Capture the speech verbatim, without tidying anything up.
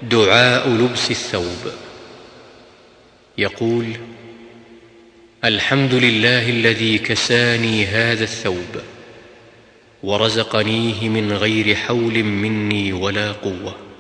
دعاء لبس الثوب. يقول: الحمد لله الذي كساني هذا الثوب ورزقنيه من غير حول مني ولا قوة.